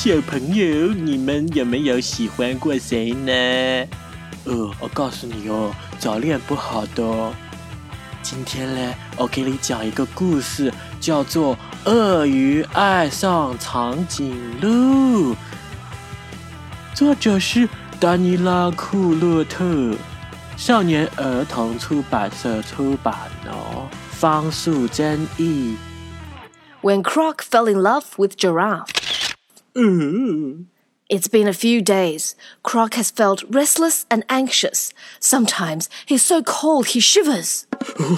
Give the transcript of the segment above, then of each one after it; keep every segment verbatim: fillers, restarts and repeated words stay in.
小朋友，你们有没有喜欢过谁呢？呃，我告诉你哦，早恋不好的哦。今天呢，我给你讲一个故事，叫做《鳄鱼爱上长颈鹿》，作者是丹尼拉·库洛特，少年儿童出版社出版哦，方素珍译。 When Croc fell in love with Giraffe. Uh. It's been a few days. Croc has felt restless and anxious. Sometimes he's so cold he shivers.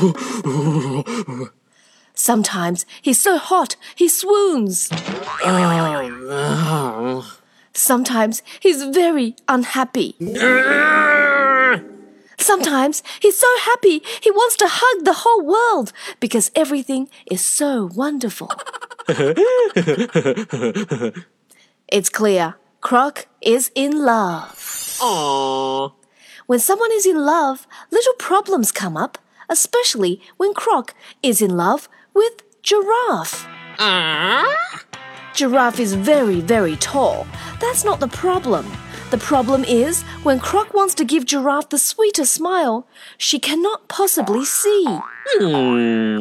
Sometimes he's so hot he swoons. Sometimes he's very unhappy. Sometimes he's so happy he wants to hug the whole world because everything is so wonderful. It's clear, Croc is in love. Aww. When someone is in love, little problems come up, especially when Croc is in love with Giraffe. Aww. Giraffe is very, very tall. That's not the problem.The problem is, when Croc wants to give Giraffe the sweetest smile, she cannot possibly see. Hmm.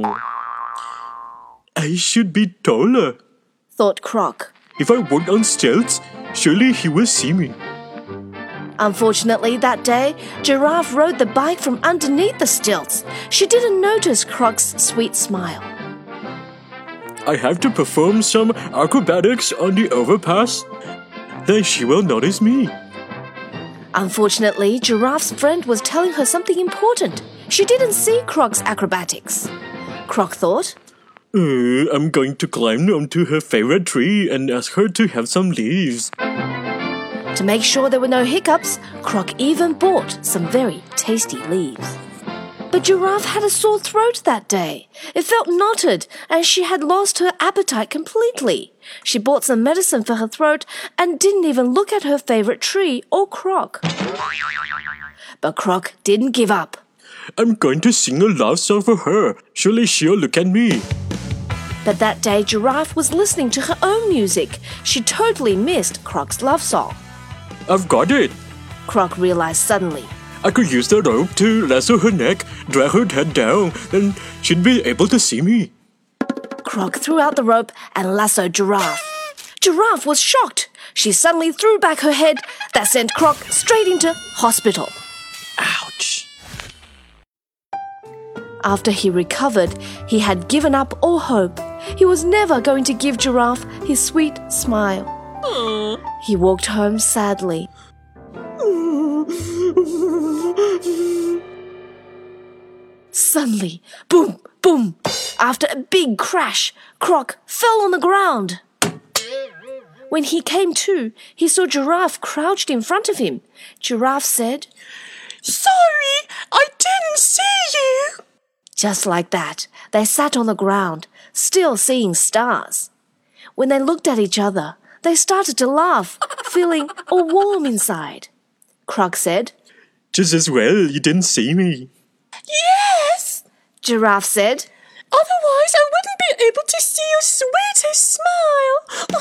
I should be taller, thought Croc. If I walk on stilts, surely he will see me. Unfortunately, that day, Giraffe rode the bike from underneath the stilts. She didn't notice Croc's sweet smile. I have to perform some acrobatics on the overpass.Then she will notice me. Unfortunately, Giraffe's friend was telling her something important. She didn't see Croc's acrobatics. Croc thought, uh, I'm going to climb onto her favorite tree and ask her to have some leaves. To make sure there were no hiccups, Croc even bought some very tasty leaves.But Giraffe had a sore throat that day. It felt knotted, and she had lost her appetite completely. She bought some medicine for her throat and didn't even look at her favorite tree or Croc. But Croc didn't give up. I'm going to sing a love song for her. Surely she'll look at me. But that day, Giraffe was listening to her own music. She totally missed Croc's love song. I've got it, Croc realized suddenly.I could use the rope to lasso her neck, drag her head down, then she'd be able to see me. Croc threw out the rope and lassoed Giraffe. Giraffe was shocked. She suddenly threw back her head. That sent Croc straight into hospital. Ouch. After he recovered, he had given up all hope. He was never going to give Giraffe his sweet smile. Aww. He walked home sadly.Suddenly, boom, boom, after a big crash, Croc fell on the ground. When he came to, he saw Giraffe crouched in front of him. Giraffe said, Sorry, I didn't see you. Just like that, they sat on the ground, still seeing stars. When they looked at each other, they started to laugh, feeling all warm inside. Croc said, Just as well you didn't see me.Yes, Giraffe said. Otherwise, I wouldn't be able to see your sweetest smile.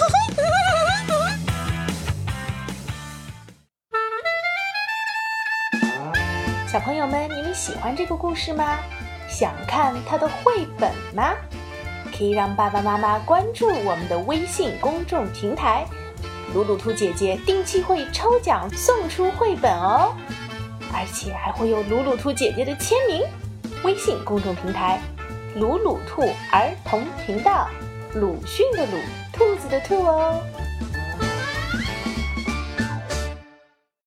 小朋友们，你们喜欢这个故事吗？想看它的绘本吗？可以让爸爸妈妈关注我们的微信公众平台，鲁鲁兔姐姐定期会抽奖送出绘本哦。而且还会有鲁鲁兔姐姐的签名。微信公众平台鲁鲁兔儿童频道，鲁迅的鲁，兔子的兔哦。